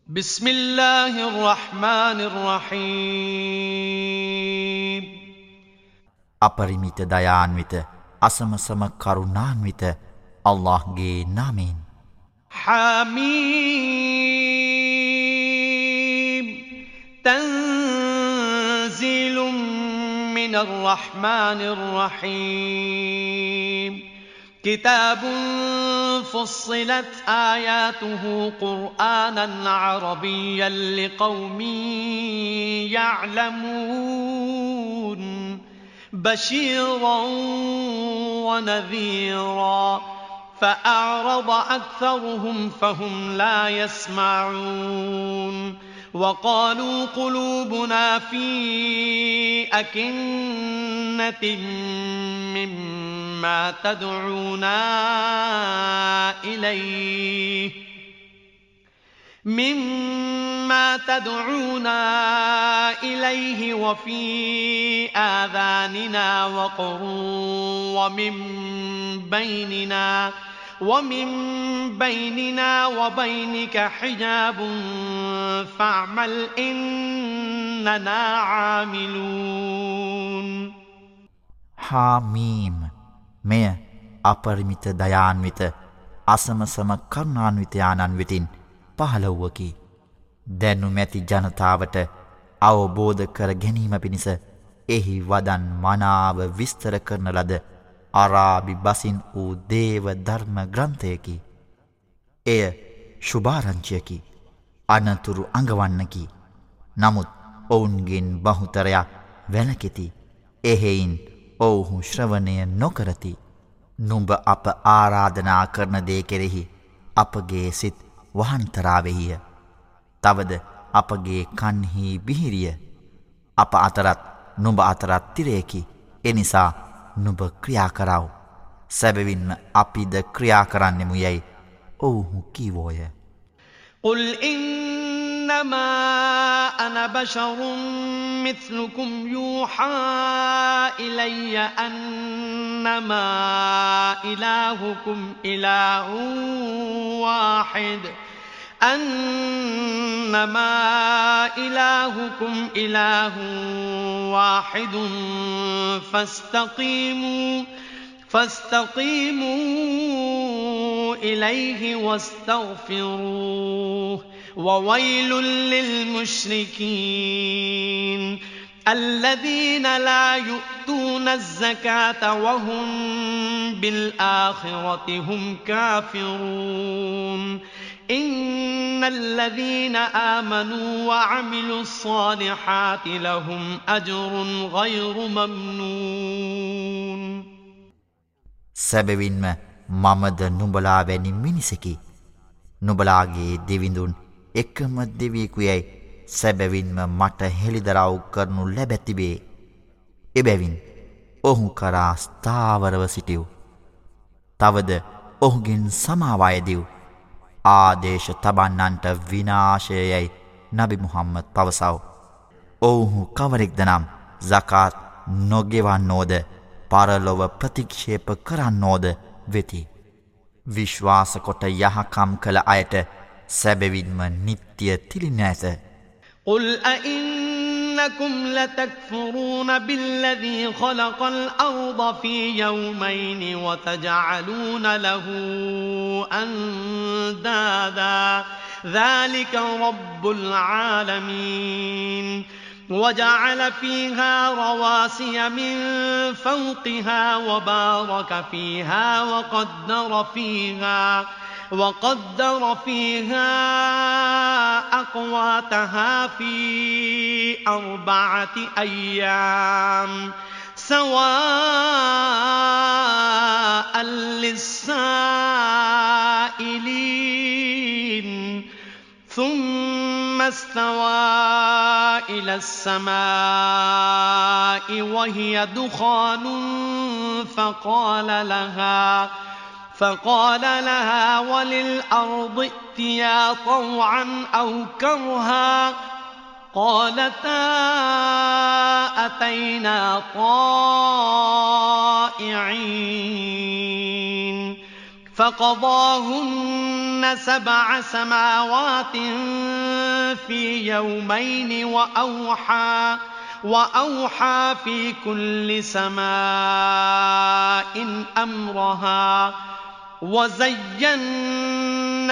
بسم الله الرحمن الرحيم අපරිමිත දයාන්විත අසමසම කරුණාන්විත අල්ලාහ්ගේ නාමයෙන් حميم تنزيل من الرحمن الرحيم كتاب فصلت آياته قرآنا عربيا لقوم يعلمون بشيرا ونذيرا فأعرض أكثرهم فهم لا يسمعون وقالوا قلوبنا في أكنة مما تدعونا إليه وفي آذاننا وقر ومن بيننا وبينك حجاب فاعمل إننا عاملون හාමීම් මෙය අපරිමිත දයාන්විත අසමසම කරුණාන්විත ආනන් වෙතින් පහළ වූවකි. දැනුමැති ජනතාවට අවබෝධ කර ගැනීම පිණිස එහි වදන් මනාව විස්තර කරන ලද අරාබි බසින් වූ දේව ධර්ම ග්‍රන්ථයකි. එය ශුභාරංචියකි, අනතුරු අඟවන්නකි. නමුත් ඔවුන්ගෙන් බහුතරයක් වැළකෙති. එහෙයින් ඔවුහු ශ්‍රවණය නොකරති. නුඹ අප ආරාධනා කරන දේ කෙරෙහි අපගේ සිත් වහන්තරාවෙහිය. තවද අපගේ කන්හි බිහිරිය. අප අතරත් නුඹ අතරත් තිරයකි. එනිසා නුඹ ක්‍රියා කරව. සැබවින්ම අපිද ක්‍රියා කරන්නෙමු යැයි ඔවුහු කීවෝය. قل إنما أنا بشر مثلكم يوحى إلي أنما إلهكم إله واحد فاستقيموا إليه واستغفروه وويل للمشركين الذين لا يؤتون الزكاة وهم بالآخرة هم كافرون إن الذين آمنوا وعملوا الصالحات لهم أجر غير ممنون සැබවින්ම මමද නුඹලා වැනි මිනිසකි. නුඹලාගේ දෙවිඳුන් එකම දෙවියෙකු යැයි සැබවින්ම මට හෙළිදරව් කරනු ලැබැතිබේ. එබැවින් ඔහු කරා ස්ථාවරව සිටිව්. තවද ඔහුගෙන් සමාවායදිව්. ආදේශ තබන්නන්ට විනාශයයයි නබි මුහම්මද් පවසව. ඔවුහු කවරෙක්ද නම් සකාත් නොගෙවන්නෝද පරලොව ප්‍රතික්ෂේප කරන්නෝද වෙති. විශ්වාස කොට යහකම් කළ අයට සැබවින්ම නිත්‍ය තිලින ඇත. قل أئنكم لتكفرون بالذي خلق الأرض في يومين وتجعلون له أندادا ذلك رب العالمين وجعل فيها رواسي من فوقها وبارك فيها وقدر فيها أقواتها في 4 أيام سواء للسائلين ثم استوى إلى السماء وهي دخان فقال لها وللأرض ائتيا طوعا أو كرها قالتا أتينا طائعين فقضاهن 7 سماوات في يومين وأوحى في كل سماء أمرها وزينا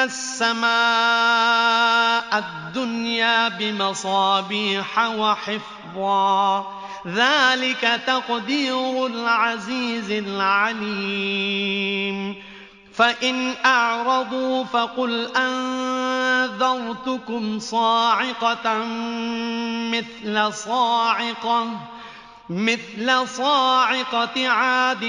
السماء الدنيا بمصابيح وحفظا ذلك تقدير العزيز العليم فإن أعرضوا فقل أنذرتكم صاعقة مثل صاعقة عاد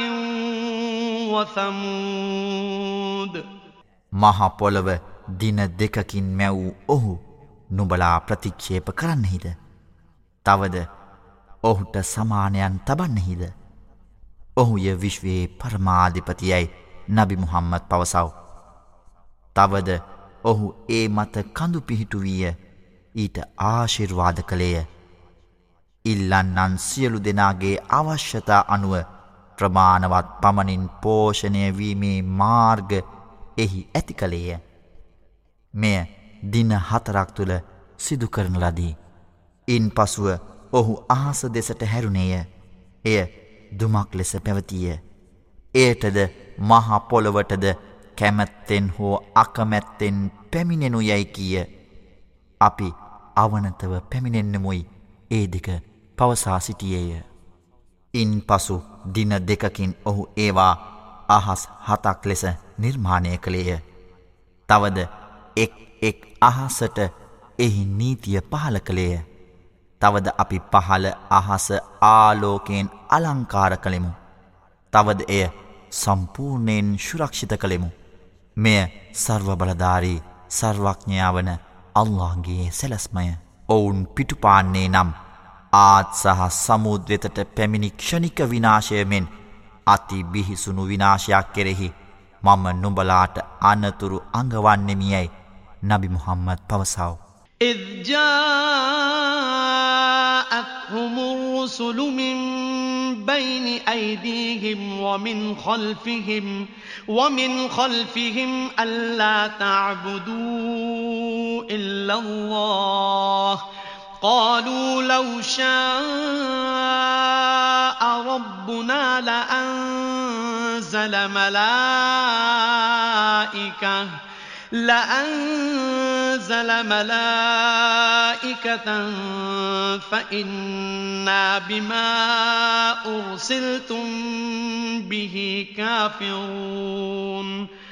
وثمود මහා පොළව දින දෙකකින් මැවූ ඔහු නුඹලා ප්‍රතික්ෂේප කරන්නෙහිද? තවද ඔහුට සමානයන් තබන්නෙහිද? ඔහුය විශ්වයේ පරමාධිපතියයි නබි මුහම්මද් පවසව. තවද ඔහු ඒ මත කඳු පිහිටු වීය ඊට ආශිර්වාද කළේය. ඉල්ලන්නන් සියලු දෙනාගේ අවශ්‍යතා අනුව ප්‍රමාණවත් පමණින් පෝෂණය වීමේ මාර්ග එහි ඇති කළේය. මෙය දින 4ක් තුළ සිදු කරන ලදී. ඉන් පසුව ඔහු අහස දෙසට හැරුණේය. එය දුමක් ලෙස පැවතිය. එයටද මහ පොළොවටද කැමැත්තෙන් හෝ අකමැත්තෙන් පැමිණෙනු යයි කීය. අපි අවනතව පැමිණෙන්නෙමුයි ඒ දෙක පවසා සිටියේය. ඉන් පසු දින දෙකකින් ඔහු ඒවා අහස් 7ක් ලෙස නිර්මාණය කළේය. තවද එක් අහසට එහි නීතිය පහල කළේය. තවද අපි පහළ අහස ආලෝකයෙන් අලංකාර කළෙමු. තවද එය සම්පූර්ණයෙන් සුරක්ෂිත කළෙමු. මෙය සර්ව බලධාරී සර්වඥයා වන අල්ලාහ්ගේ සැලැස්මය. ඔවුන් පිටුපාන්නේ නම් ආත් සහ සමුද්‍රයට පැමිණි ක්ෂණික විනාශය මෙන් අති බිහිසුණු විනාශයක් කෙරෙහි මම නුඹලාට අනතුරු අඟවන්නෙමියයි නබි මුහම්මද් පවසව. إذ جاءتهم الرسل من بين أيديهم ومن خلفهم ألا تعبدوا إلا الله قالوا لو شاء ربنا لأنزل ملائكة فإنا بما أرسلتم به كافرون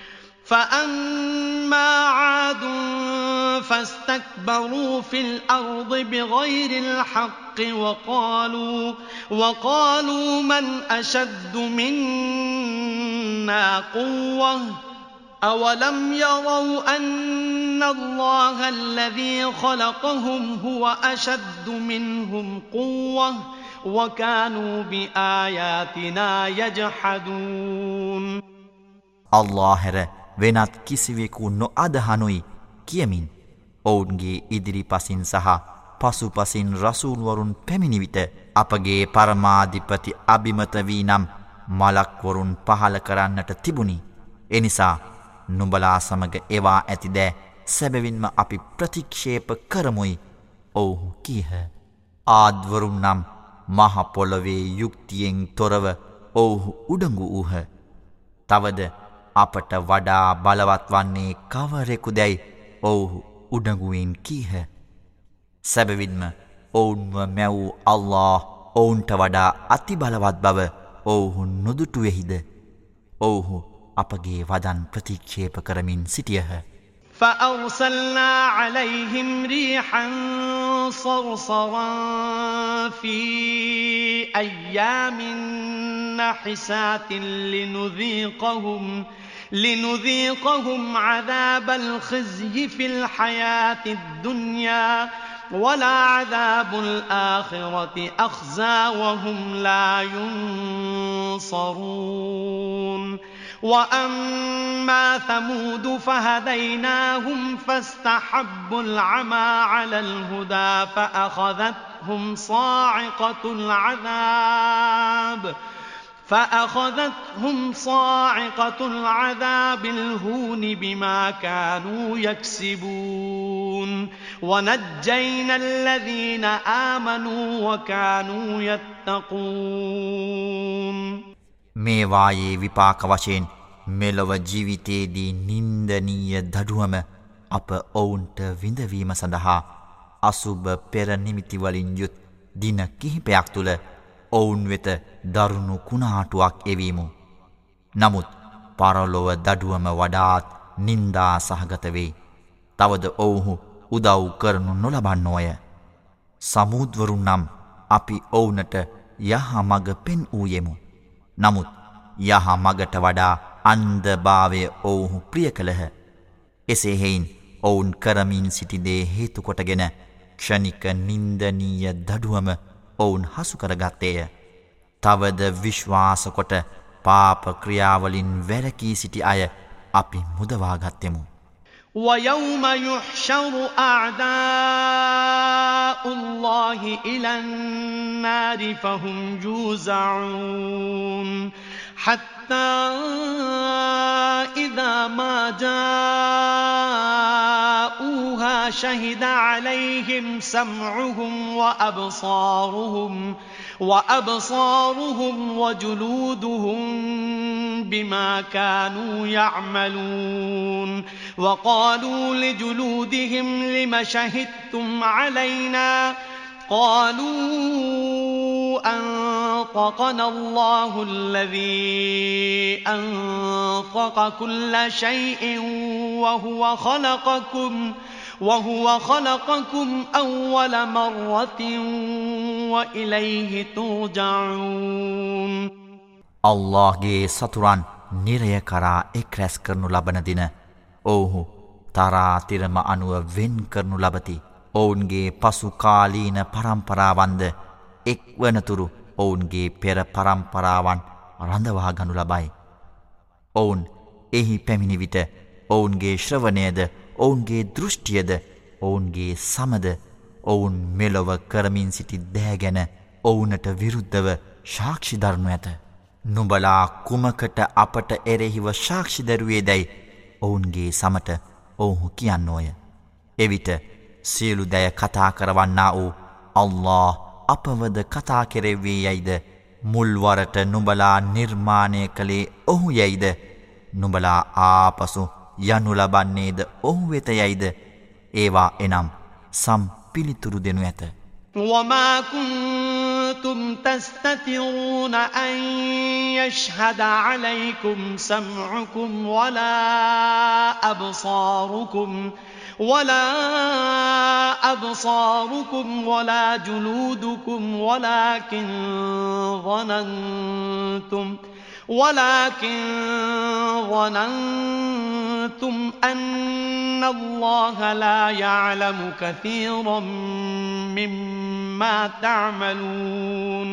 فأما عاد فاستكبروا في الأرض بغير الحق وقالوا من أشد منا قوة أولم يروا أن الله الذي خلقهم هو أشد منهم قوة وكانوا بآياتنا يجحدون අල්ලාහ් හැර වෙනත් කිසිවෙකු නොඅදහනුයි කියමින් ඔවුන්ගේ ඉදිරිපසින් සහ පසුපසින් රසූල් වරුන් පැමිණි විට අපගේ පරමාධිපති අබිමත වී නම් මලක් වරුන් පහල කරන්නට තිබුණි. එනිසා නුඹලා සමග එවා ඇති දෑ සැබවින්ම අපි ප්‍රතික්ෂේප කරමුයි ඔවුහු කීහ. ආද්වරුන් නම් මහ පොළොවේ යුක්තියෙන් තොරව ඔවුහු උඩඟු වූහ. තවද අපට වඩා බලවත් වන්නේ කවරෙකුදැයි ඔවුහු උඩඟුවෙන් කීහ. සැබවින්ම ඔවුන්ව මැවූ අල්ලාහ් ඔවුන්ට වඩා අති බලවත් බව ඔවුහු නොදුටුවෙහිද? ඔවුහු අපගේ වදන් ප්‍රතික්ෂේප කරමින් සිටියහ. فأرسلنا عليهم ريحا صرصرا في أيام نحسات لنذيقهم عذاب الخزي في الحياة الدنيا ولعذاب الآخرة أخزى وهم لا ينصرون وأما ثمود فهديناهم فاستحبوا العمى على الهدى فأخذتهم صاعقة العذاب الهون بما كانوا يكسبون وَنَجَّيْنَا الَّذِينَ آمَنُوا وَكَانُوا يَتَّقُونَ මේවායේ විපාක වශයෙන් මෙලොව ජීවිතයේදී නින්දනීය දඩුවම අප ඔවුන්ට විඳවීම සඳහා අසුබ පෙර නිමිති වලින් යුත් දින කිහිපයක් තුළ ඔවුන් වෙත දරුණු කුණාටුවක් එවීමු. නමුත් පරලොව දඩුවම වඩාත් නින්දා සහගත වෙයි. තවද ඔවුහු උදව් කරනු නොලබන්නෝය. සමූද්වරුන් නම් අපි ඔවුනට යහ මග පෙන් වූයෙමු. නමුත් යහ මගට වඩා අන්ධභාවය ඔවුහු ප්‍රිය කළහ. එසේ හෙයින් ඔවුන් කරමින් සිටිදේ හේතුකොටගෙන ක්ෂණික නින්දනීය දඩුවම ඔවුන් හසුකරගත්තේය. තවද විශ්වාසකොට පාප ක්‍රියාවලින් වැරකී සිටි අය අපි මුදවාගත්තෙමු. وَيَوْمَ يُحْشَرُ أَعْدَاءُ اللَّهِ إِلَى النَّارِ فَهُمْ يُوزَعُونَ حَتَّى إِذَا مَا جَاءُوهَا شَهِدَ عَلَيْهِمْ سَمْعُهُمْ وَأَبْصَارُهُمْ وَجُلُودُهُمْ بِمَا كَانُوا يَعْمَلُونَ وَقَالُوا لِجُلُودِهِمْ لِمَ شَهِدتُّمْ عَلَيْنَا قَالُوا أَنطَقَنَا اللَّهُ الَّذِي أَنطَقَ كُلَّ شَيْءٍ وهو خلقكم أول مرة وإليه ترجعون අල්ලාහ්ගේ සතුරන් නිරය කරා එක් රැස් කරනු ලබන දින ඔවුහු තරාතිරම අනුව වෙන් කරනු ලබති. ඔවුන්ගේ පසු කාලීන පරම්පරාවන්ද එක් වනතුරු ඔවුන්ගේ පෙර පරම්පරාවන් රඳවා ගනු ලබයි. ඔවුන් එහි පැමිණි විට ඔවුන්ගේ ශ්‍රවණයද ඔවුන්ගේ දෘෂ්ටියද ඔවුන්ගේ සමද ඔවුන් මෙලොව කරමින් සිටි දෑ ගැන ඔවුනට විරුද්ධව සාක්ෂි දරනු ඇත. නුඹලා කුමකට අපට එරෙහිව සාක්ෂි දරුවේදැයි ඔවුන්ගේ සමට ඔවුහු කියන්නෝය. එවිට සියලු දෑ කතා කරවන්නා වූ අල්ලාහ් අපවද කතා කෙරෙව්වේ යයිද මුල්වරට නුඹලා නිර්මාණය කළේ ඔහු යයිද නුඹලා ආපසු යනු ලබන්නේද ඔහු වෙත යයිද ඒවා එනම් සම් පිළිතුරු දෙනු ඇත. وما كنتم تستترون أن يشهد عليكم سمعكم ولا أبصاركم ولا جلودكم ولكن ظننتم أن الله لا يعلم كثيرا مما تعملون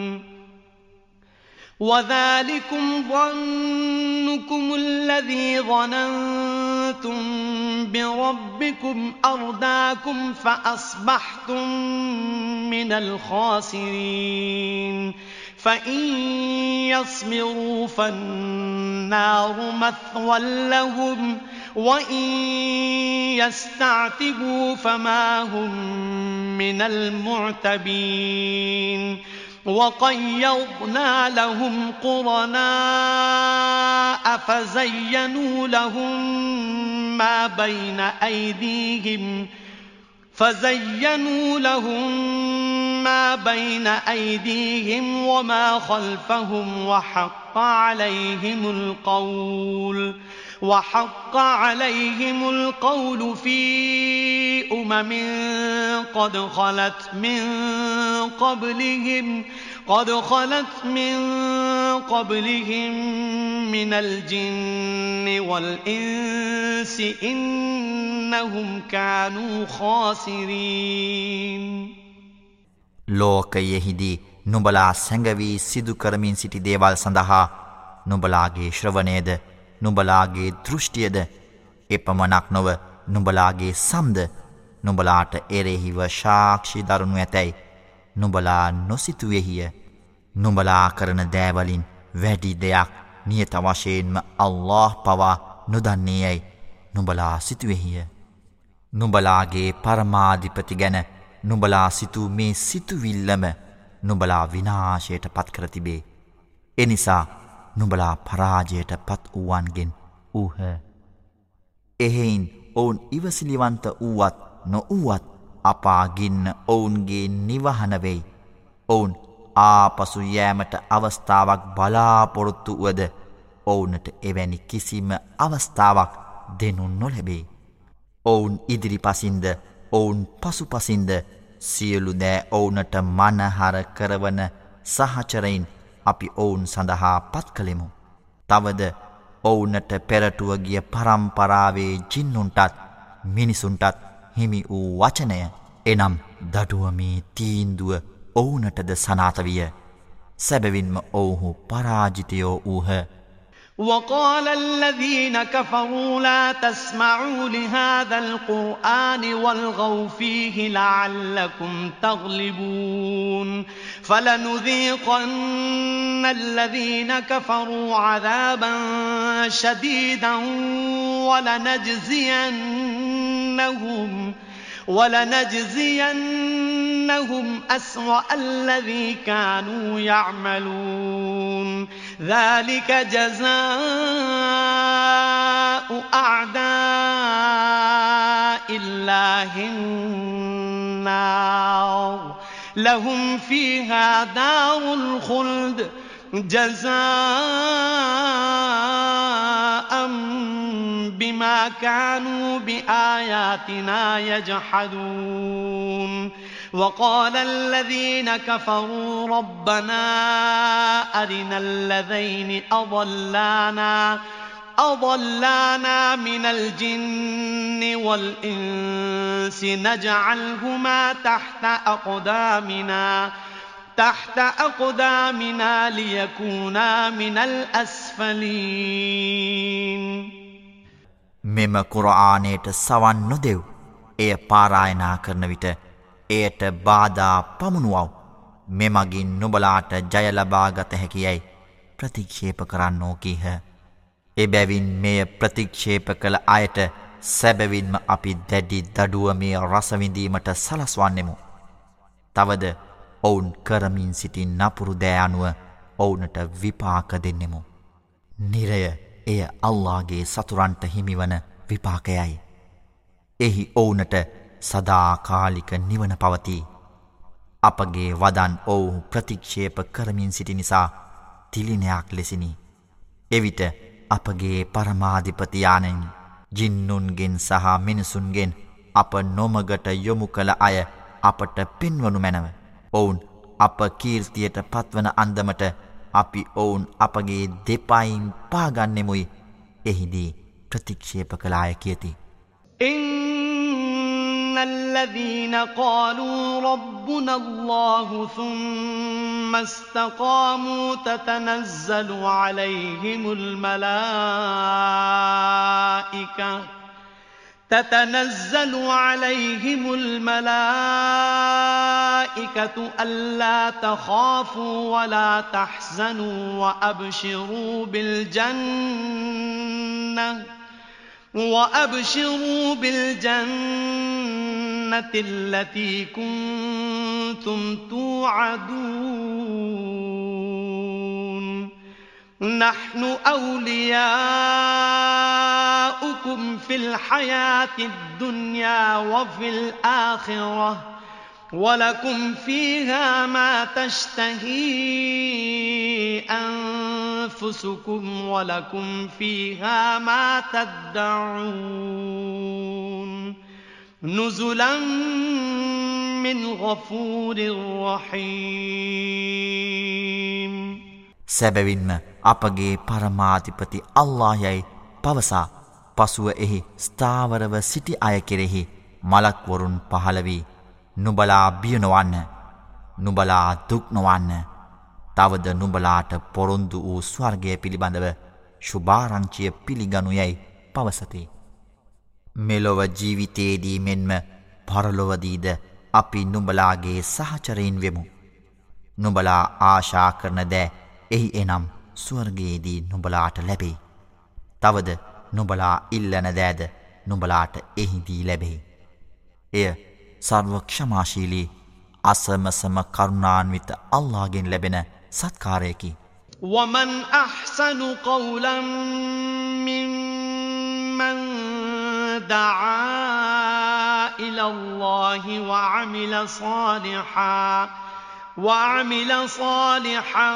وذلكم ظنكم الذي ظننتم بربكم أرداكم فأصبحتم من الخاسرين فإن يصبروا فالنار مثوى لهم وإن يستعتبوا فما هم من المعتبين وقيضنا لهم قرناء فزينوا لهم ما بين أيديهم وما خلفهم وحق عليهم القول في قد خلت من قبلهم من الجن والإنس إنهم كانوا خاسرين ලෝකයෙහිදී නුඹලා සැඟවී සිදු කරමින් සිටි දේවල් සඳහා නුඹලාගේ ශ්‍රවණයද නුඹලාගේ දෘෂ්ටියද එපමණක් නොව නුඹලාගේ සම්ද නුඹලාට එරෙහිව සාක්ෂි දරනු ඇතැයි නුඹලා නොසිතුවේහිය. නුඹලා කරන දෑවලින් වැඩි දෙයක් නියත වශයෙන්ම අල්ලාහ් පවා නොදන්නේ යැයි නුඹලා සිතුවේහිය. නුඹලාගේ පරමාධිපති ගැන නුඹලා සිතූ මේ සිතුවිල්ලම නුඹලා විනාශයට පත් කර තිබේ. එනිසා නුඹලා පරාජයට පත් වූවන්ගෙන් වූහ. එහෙයින් ඔවුන් ඉවසිලිවන්ත වූවත් නොවූවත් අපාගින්න ඔවුන්ගේ නිවහන වෙයි. ඔවුන් ආපසු යෑමට අවස්ථාවක් බලාපොරොත්තු වුවද ඔවුනට එවැනි කිසිම අවස්ථාවක් දෙනු නොලැබේ. ඔවුන් ඉදිරිපසින්ද ඔවුන් පසුපසින්ද සියලු දෑ ඔවුනට මනහර කරවන සහචරයින් අපි ඔවුන් සඳහා පත් කළෙමු. තවද ඔවුනට පෙරටුව ගිය පරම්පරාවේ ජින්නුන්ටත් මිනිසුන්ටත් හිමි වූ වචනය එනම් දඩුවමේ තීන්දුව ඔවුනටද සනාත විය. සැබවින්ම ඔවුහු පරාජිතයෝ වූහ. وقال الذين كفروا لا تسمعوا لهذا القرآن والغوا فيه لعلكم تغلبون فلنذيقن الذين كفروا عذابا شديدا ولنجزينهم أسوأ الذي كانوا يعملون ذلك جزاء أعداء الله النار لهم فيها دار الخلد جزاء بما كانوا بآياتنا يجحدون وقال الذين كفروا ربنا أرنا الذين أضلانا من الجن والإنس نجعلهما تحت أقدامنا ليكونا من الأسفلين මෙම කුරආනයට සවන් නොදෙව්. එය පාරායනා කරන විට එයට බාධා පමුණුවව්. මෙමගින් නුඹලාට ජය ලබා ගත හැකියයි ප්‍රතික්ෂේප කරන්නෝ කීහ. එබැවින් මෙය ප්‍රතික්ෂේප කළ අයට සැබවින්ම අපි දැඩි දඩුවමේ රසවිඳීමට සලස්වන්නෙමු. තවද ඔවුන් කරමින් සිටි නපුරු දෑ අනුව ඔවුනට විපාක දෙන්නෙමු. නිරය එය අල්ලාහගේ සතුරන්ට හිමිවන විපාකයයි. එහි ඔවුනට සදාකාලික නිවන පවතී. අපගේ වදන් ඔවුහු ප්‍රතික්ෂේප කරමින් සිටි නිසා තිලිනයක් ලෙසිනි. එවිට අපගේ පරමාධිපතියාණන් ජින්නුන්ගෙන් සහ මිනිසුන්ගෙන් අප නොමගට යොමු කළ අය අපට පෙන්වනු මැනව. ඔවුන් අප කීර්තියට පත්වන අන්දමට අපි ඔවුන් අපගේ දෙපයින් පාගන්නෙමුයි. එහිදී ප්‍රතික්ෂේප කළ අය කියති. إن الذين قالوا ربنا الله ثم استقاموا تتنزل عليهم الملائكة ألا تخافوا ولا تحزنوا وأبشروا بالجنة التي كنتم توعدون نحن أولياؤكم في الحياة الدنيا وفي الآخرة ولكم فيها ما تشتهي أنفسكم ولكم فيها ما تدعون نزلا من غفور رحيم සැබවින්ම අපගේ පරමාධිපති අල්ලාහ් යයි පවසා පසුව එහි ස්ථාවරව සිටි අය කෙරෙහි මලක් වරුන් පහළ වී නුඹලා බිය නොවන්න, නුඹලා දුක් නොවන්න. තවද නුඹලාට පොරොන්දු වූ ස්වර්ගය පිළිබඳව ශුභාරංචිය පිළිගනු යයි පවසති. මෙලොව ජීවිතයේදී මෙන්ම පරලොවදීද අපි නුඹලාගේ සහචරයින් වෙමු. නුඹලා ආශා කරන දෑ එහි එනම් ස්වර්ගයේදී නුඹලාට ලැබෙයි. තවද නුඹලා ඉල්ලන දෑද නුඹලාට එහිදී ලැබෙයි. එය සර්ව ක්ෂමාශීලී අසමසම කරුණාන්විත අල්ලාහ්ගෙන් ලැබෙන සත්කාරයකි. ومن أحسن قولا ممن دعا إلى الله وعمل صالحا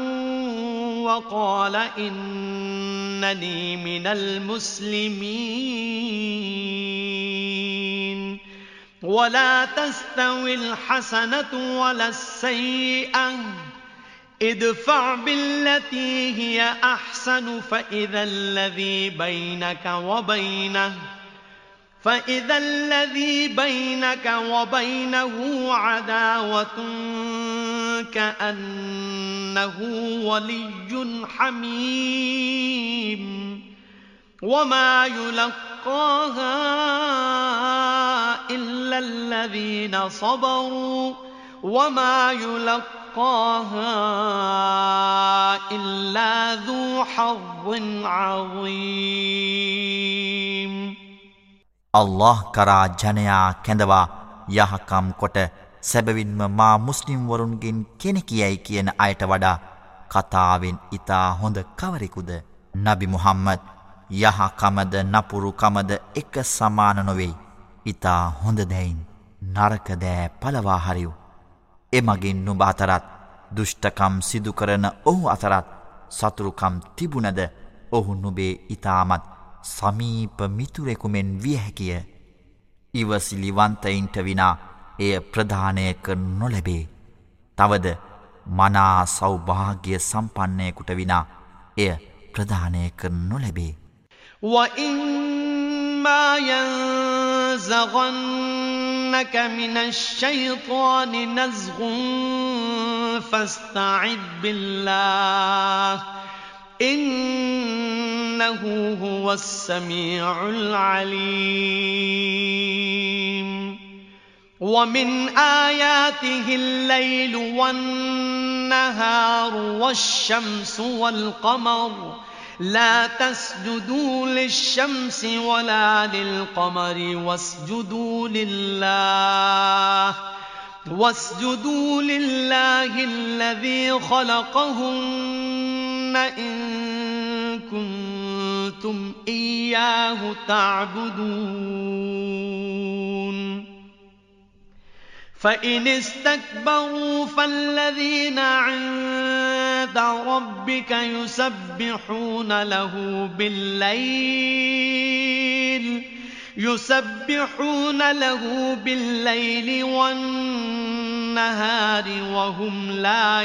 وقال إنني من المسلمين ولا تستوي الحسنة ولا السيئة ادفع بالتي هي أحسن فإذا الذي بينك وبينه عداوة كأنه ولي حميم وما يلقاها إلا الذين صبروا وما يلقاها إلا ذو حظ عظيم අල්ලාහ් කරා ජනයා කැඳවා යහකම් කොට සැබවින්ම මා මුස්ලිම් වරුන්ගෙන් කෙනෙකියයි කියන අයට වඩා කතාවෙන් ඊතා හොඳ කවරෙකුද? නබි මුහම්මද් යහකමද නපුරුකමද එක සමාන නොවේ. ඊතා හොඳ දැයින් නරක දෑ පළවා හරියු. එමගින් නුඹ අතරත් දුෂ්ටකම් සිදු කරන ඔහු අතරත් සතුරුකම් තිබුණද ඔහු නුඹේ ඊතාමත් සමීප මිතුරෙකු මෙන් විය හැකිය. ඉවසිලිවන්තයින්ට විනා එය ප්‍රදානය කර නොලැබේ. තවද මනා සෞභාග්‍ය සම්පන්නයෙකුට විනා එය ප්‍රදානය කර නොලැබේ. وَإِمَّا يَنزَغَنَّكَ مِنَ الشَّيْطَانِ نَزْغٌ فَاسْتَعِذْ بِاللَّهِ إِنَّهُ هُوَ السَّمِيعُ الْعَلِيمُ وَمِنْ آيَاتِهِ اللَّيْلُ وَالنَّهَارُ وَالشَّمْسُ وَالْقَمَرُ لا تسجدوا للشمس ولا للقمر واسجدوا لله الذي خلقهن إن كنتم إياه تعبدون فإن استكبروا فالذين عند ربك يسبحون له بالليل والنهار وهم لا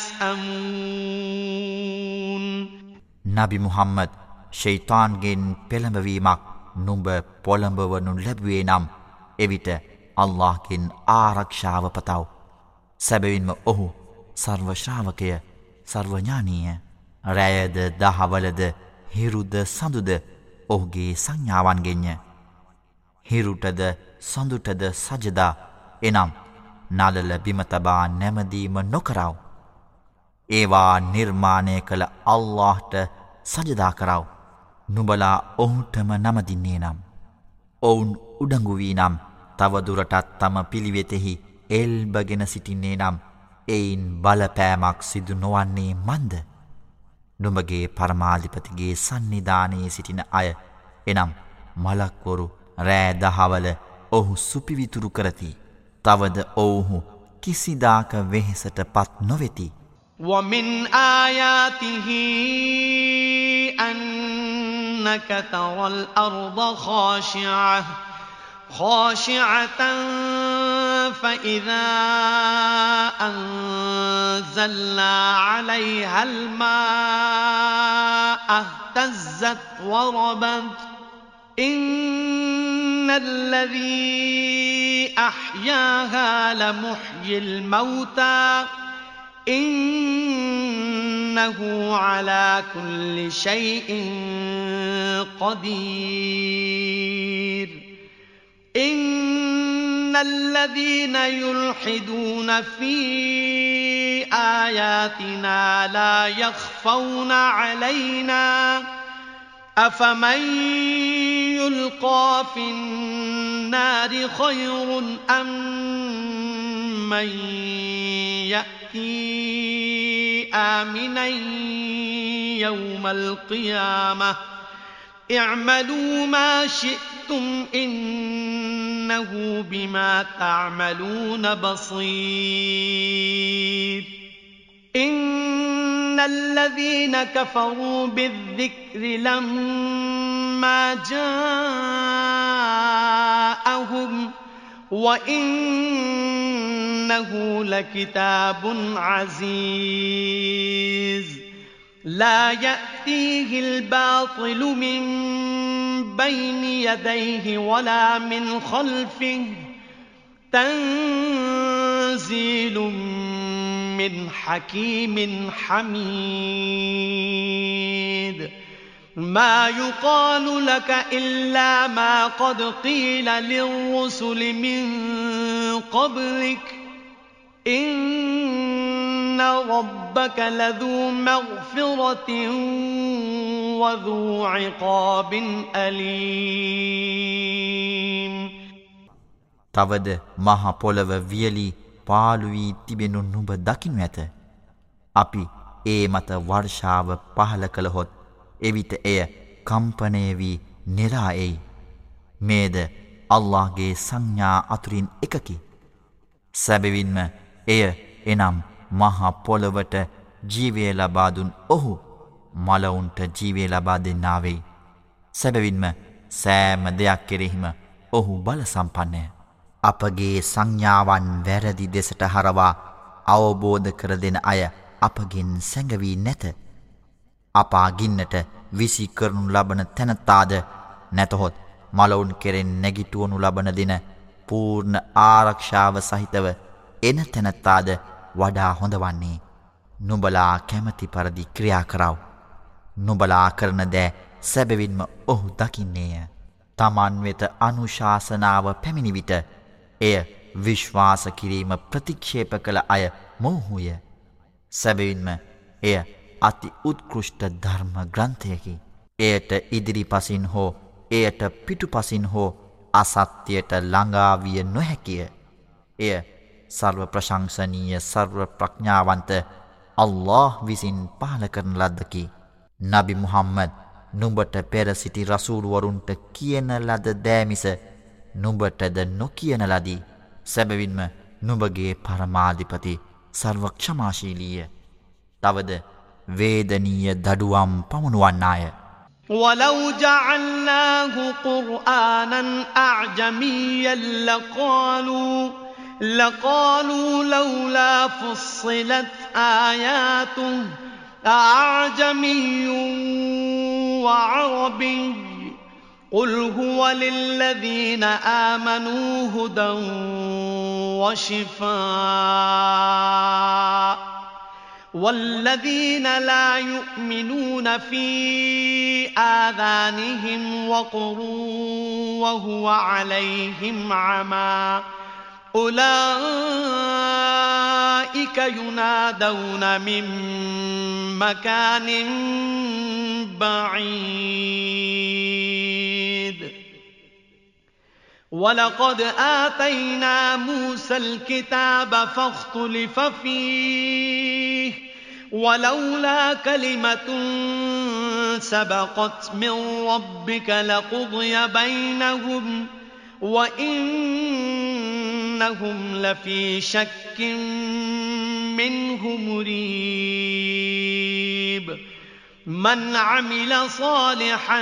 يسأمون නබි මුහම්මද් ෂයිතාන්ගෙන් පෙළඹවීමක් නුඹ පොළඹවනු ලැබුවේ නම් එවිට අල්ලාහ්ගෙන් ආරක්ෂාව පතව. සැබවින්ම ඔහු සර්ව ශ්‍රාවකය, සර්වඥානීය. රැයද දහවලද හිරුද සඳුද ඔහුගේ සංඥාවන්ගෙන්ය. හිරුටද සඳුටද සජදා එනම් නලල බිම තබා නැමදීම නොකරව. ඒවා නිර්මාණය කළ අල්ලාහ්ට සජදා කරව. නුඹලා ඔහුටම නමදින්නේ නම් ඔවුන් උඩඟු වී නම් තවදුරටත් තම පිළිවෙතෙහි එල්බගෙන සිටින්නේ නම් එයින් බලපෑමක් සිදු නොවන්නේ මන්ද? නුඹගේ පරමාධිපතිගේ සන්නිධානයේ සිටින අය එනම් මලක්වරු රෑ දහවල ඔහු සුපිවිතුරු කරති. තවද ඔවුහු කිසිදාක වෙහෙසට පත් නොවෙති. ومن آياته أنك ترى الأرض خاشعة فإذا أنزلنا عليها الماء اهتزت وربت إن الذي أحياها لمحيي الموتى إنه على كل شيء قدير إن الذين يلحدون في آياتنا لا يخفون علينا أفمن يلقى في النار خير أم من يأتي آمنا يوم القيامة اعملوا ما شئتم إنه بما تعملون بصير إن الذين كفروا بالذكر لما جاءهم وإنه لكتاب عزيز لا يأتيه الباطل من بين يديه ولا من خلفه تنزيل من حكيم حميد ما يقال لك إلا ما قد قيل للرسل من قبلك إن ربك لذو مغفرة وذو عقاب أليم තවද මහ පොළව වියලි පාළු වී තිබෙනු නුඹ දකිනු ඇත. අපි ඒ මත වර්ෂාව පහල කළහොත් එවිට එය කම්පණය වී නෙරා එයි. මේද අල්ලාහ්ගේ සංඥා අතුරින් එකකි. සැබවින්ම එය එනම් මහ පොළවට ජීවය ලබා දුන් ඔහු මලවුන්ට ජීවය ලබා දෙන්නා වෙයි. සැබවින්ම සෑම දෙයක් කෙරෙහිම ඔහු බල සම්පන්නය. අපගේ සංඥාවන් වැරදි දෙසට හරවා අවබෝධ කර දෙන අය අපගෙන් සැඟවී නැත. අපා ගින්නට විසි කරනු ලබන තැනතාද නැතහොත් මලවුන් කෙරෙන් නැගිටුවනු ලබන දින පූර්ණ ආරක්ෂාව සහිතව එන තැනතාද වඩා හොඳ වන්නේ. නුඹලා කැමති පරිදි ක්‍රියා කරව. නුඹලා කරන දෑ සැබවින්ම ඔහු දකින්නේය. තමන් වෙත අනුශාසනාව පැමිණි විට එය විශ්වාස කිරීම ප්‍රතික්ෂේප කළ අය මොහුය. සැබවින්ම එය අති උත්කෘෂ්ට ධර්ම ග්‍රන්ථයකි. එයට ඉදිරිපසින් හෝ එයට පිටුපසින් හෝ අසත්‍යයට ළඟාවිය නොහැකිය. එය සර්ව ප්‍රශංසනීය සර්ව ප්‍රඥාවන්ත අල්ලාහ් විසින් පහල කරන ලද්දකි. නබි මුහම්මද් නුඹට පෙර සිටි රසූල්වරුන්ට කියන ලද දෑමිස නුඹටද නොකියන ලදී. සැබවින්ම නුඹගේ පරමාධිපති සර්ව ක්ෂමාශීලීය. තවද වේදනීය දඩුවම් පමුණුවන්නාය. ولو جعلناه قرآنا أعجميا لقالوا لولا فصلت آياته أعجمي وعربي قل هو للذين آمنوا هدى وشفاء والذين لا يؤمنون في آذانهم وقر وهو عليهم عمى أولئك ينادون من مكان بعيد ولقد آتينا موسى الكتاب فاختلف فيه ولولا كلمة سبقت من ربك لقضي بينهم وإنهم لفي شك منه مريب من عمل صالحا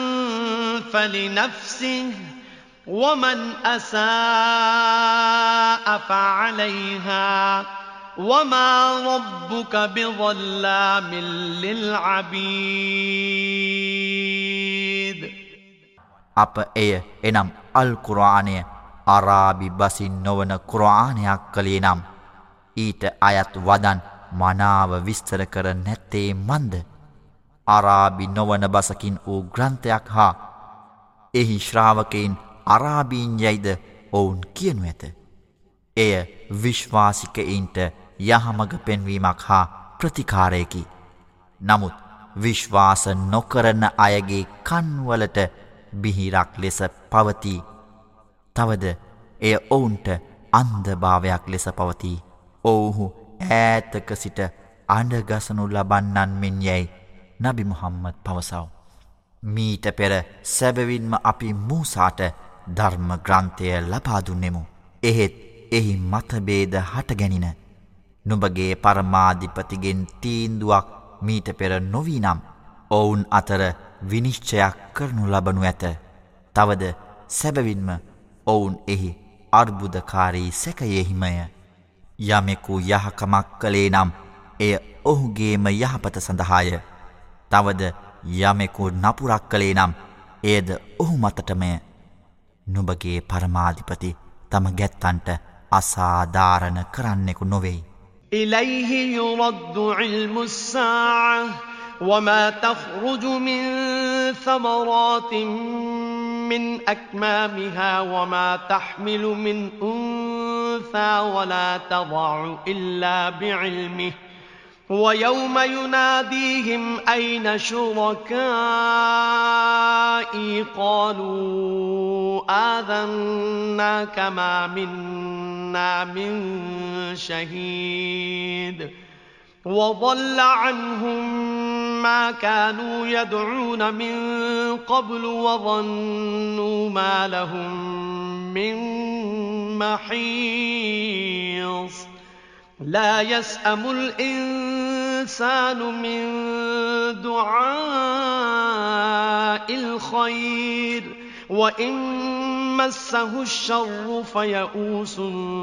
فلنفسه ومن أساء فعليها وما ربك بظلام للعبيد අප එය එනම් අල් කුර්ආනය අරාබි බසින් නොවන කුර්ආනයක් කළේ නම් ඊට අයත් වදන් මනාව විස්තර කර නැත්තේ මන්ද? අරාබි නොවන බසකින් වූ ග්‍රන්ථයක් හා එහි ශ්‍රාවකයින් අරාබීන් යයිද ඔවුන් කියනු ඇත. එය විශ්වාසිකයින්ට යහමඟ පෙන්වීමක් හා ප්‍රතිකාරයකි. නමුත් විශ්වාස නොකරන අයගේ කන්වලට බිහිරක් ලෙස පවතී. තවද එය ඔවුන්ට අන්ධභාවයක් ලෙස පවතී. ඔවුහු ඈතක සිට අඬගසනු ලබන්නන් මෙන් යැයි නබි මුහම්මද් පවසව. මීට පෙර සැබවින්ම අපි මූසාට ධර්ම ග්‍රන්ථය ලබා දුන්නෙමු. එහෙත් එහි මතභේද හටගැනින. නුඹගේ පරමාධිපතිගෙන් තීන්දුවක් මීට පෙර නොවී නම් ඔවුන් අතර විනිශ්චයක් කරනු ලබනු ඇත. තවද සැබවින්ම ඔවුන් එහි අර්බුදකාරී සැකයෙහිමය. යමෙකු යහකමක් කළේ නම් එය ඔහුගේම යහපත සඳහාය. තවද යමෙකු නපුරක් කළේ නම් එයද ඔහු මතටමය. නුඹගේ පරමාධිපති තම ගැත්තන්ට අසාධාරණ කරන්නෙකු නොවෙයි. إليه يرد علم الساعة وما تخرج من ثمرات من أكمامها وما تحمل من أنثى ولا تضع إلا بعلمه ويوم يناديهم أين شركائي قالوا آذناك ما منا من شهيد وضل عنهم ما كانوا يدعون من قبل وظنوا ما لهم من محيص لا يسأم الإنسان من دعاء الخير وإن مسه الشر فيئوس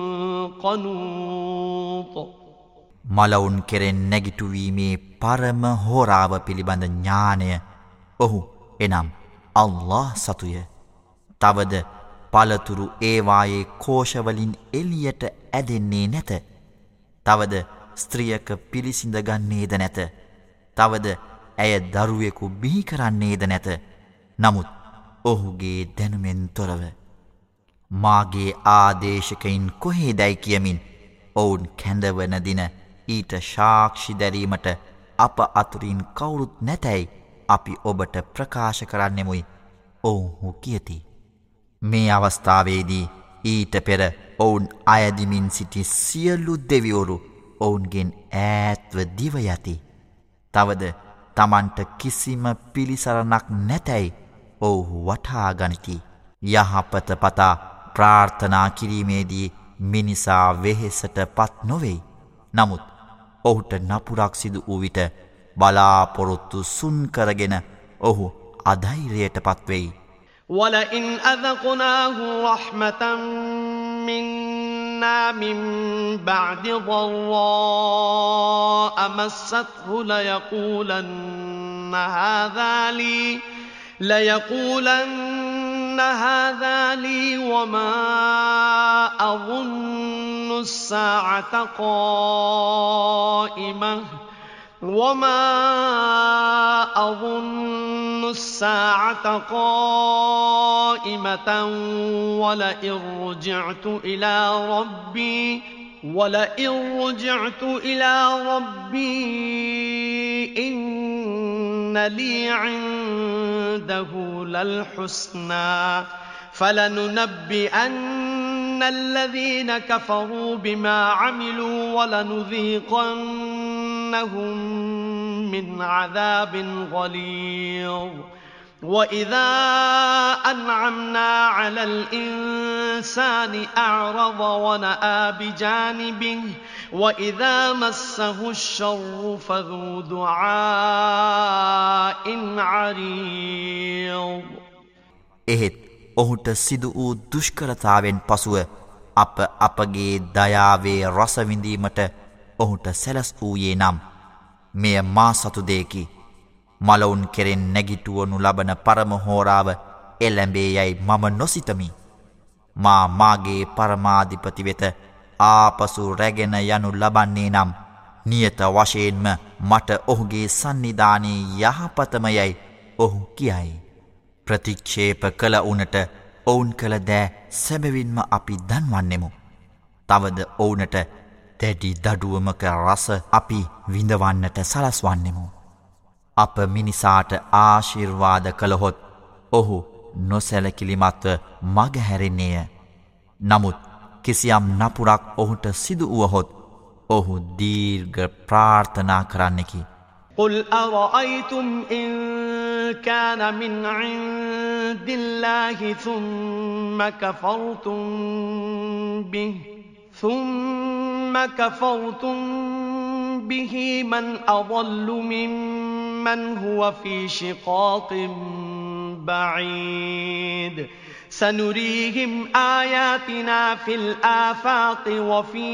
قنوط මලවුන් කෙරෙන් නැගිටුවීමේ පරම හෝරාව පිළිබඳ ඥානය ඔහු එනම් අල්ලාහ් සතුය. තවද පළතුරු ඒවායේ කෝෂවලින් එලියට ඇදෙන්නේ නැත. තවද ස්ත්‍රියක පිළිසිඳ ගන්නේද නැත. තවද ඇය දරුවෙකු බිහි කරන්නේද නැත. නමුත් ඔහුගේ දැනුමෙන් තොරව මාගේ ආදේශකයින් කොහේදැයි කියමින් ඔවුන් කැඳවන දින ඊට සාක්ෂි දැරීමට අප අතුරින් කවුරුත් නැතැයි අපි ඔබට ප්‍රකාශ කරන්නෙමුයි ඔවුහු කියති. මේ අවස්ථාවේදී ඊට පෙර ඔවුන් අයදිමින් සිටි සියලු දෙවිවරු ඔවුන්ගෙන් ඈත්ව දිව යති. තවද තමන්ට කිසිම පිළිසරණක් නැතැයි ඔවුහු වටහා ගනිති. යහපත පතා ප්‍රාර්ථනා කිරීමේදී මිනිසා වෙහෙසට පත් නොවෙයි. නමුත් ඔහුට නපුරක් සිදු වූ විට බලාපොරොත්තු සුන් කරගෙන ඔහු අධෛර්යයට පත්වෙයි. وَلَئِنْ أَذَقْنَاهُ رَحْمَةً مِنَّا مِنْ بَعْدِ ضَرَّاءَ مَسَّتْهُ لَيَقُولَنَّ هَذَا لِي وَمَا أَظُنُّ السَّاعَةَ قائمة ولئن رجعت إلى ربي إن لي عنده للحسنى فلننبئن الذين كفروا بما عملوا ولنذيقنهم من عذاب غليظ وَإِذَا أَنْعَمْنَا عَلَى الْإِنسَانِ أَعْرَضَ وَنَأَىٰ بِجَانِبِهِ وَإِذَا مَسَّهُ الشَّرُّ فَذُو دُعَاءٍ عَرِيضٍ. එහෙත් ඔහුට සිදු වූ දුෂ්කරතාවෙන් පසුව අපගේ දයාවේ රස විඳීමට ඔහුට සැලස් වූයේ නම් මෙය මා සතු දෙයකි. මලවුන් කෙරෙන් නැගිටුවනු ලබන පරම හෝරාව එළැඹේ යැයි මම නොසිතමි. මාගේ පරමාධිපති වෙත ආපසු රැගෙන යනු ලබන්නේ නම් නියත වශයෙන්ම මට ඔහුගේ සන්නිධානයේ යහපතම යැයි ඔහු කියයි. ප්‍රතික්ෂේප කළ උනට ඔවුන් කළ දෑ සැබවින්ම අපි දන්වන්නෙමු. තවද ඔවුනට දැඩි දඩුවමක රස අපි විඳවන්නට සලස්වන්නෙමු. අප මිනිසාට ආශිර්වාද කළහොත් ඔහු නොසැලකිලිමත්ව මගහැරෙන්නේය. නමුත් කිසියම් නපුරක් ඔහුට සිදු වුවහොත් ඔහු දීර්ඝ ප්‍රාර්ථනා කරන්නෙකි. قل أرأيتم إن كان من عند الله ثم كفرتم به من أضل ممن هو في شقاق بعيد سنريهم آياتنا في الآفاق وفي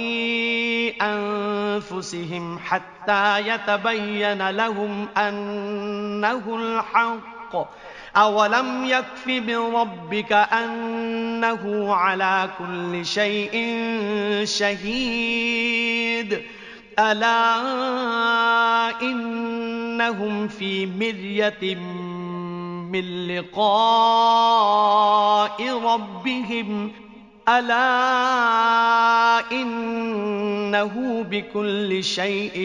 أنفسهم حتى يتبين لهم أنه الحق أولم يكف بربك أنه على كل شيء شهيد ألا إنهم في مرية من لقاء ربهم ألا إنه بكل شيء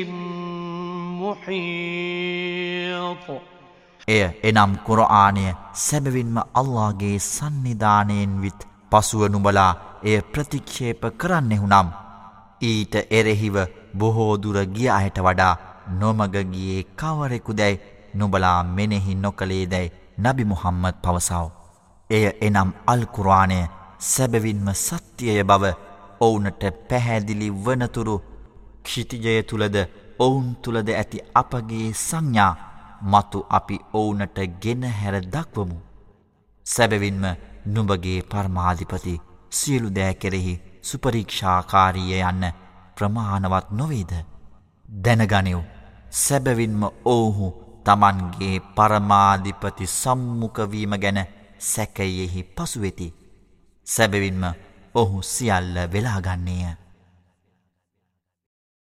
محيط. එය එනම් කුරආනය සැබවින්ම අල්ලාහගේ සන්නිධානයෙන් විත් පසුව නුඹලා එය ප්‍රතික්ෂේප කරන්නෙහු නම් ඊට එරෙහිව බොහෝ දුර ගිය අයට වඩා නොමග ගියේ කවරෙකුදැයි නුඹලා මෙනෙහි නොකළේදැයි නබි මුහම්මද් පවසව. එය එනම් අල් කුර්ආනය සැබවින්ම සත්‍යය බව ඔවුනට පැහැදිලි වනතුරු ක්ෂිතිජය තුලද ඔවුන් තුලද ඇති අපගේ සංඥා මතු අපි ඔවුනට ගෙන හැර දක්වමු. සැබවින්ම නුඹගේ පරමාධිපති සියලු දෑ කෙරෙහි සුපරීක්ෂාකාරීය යන්න ප්‍රමාණවත් නොවේද? දැනගනිව් සැබවින්ම ඔවුහු තමන්ගේ පරමාධිපති සම්මුඛවීම ගැන සැකයෙහි පසුවෙති. සැබවින්ම ඔහු සියල්ල වෙලාගන්නේය.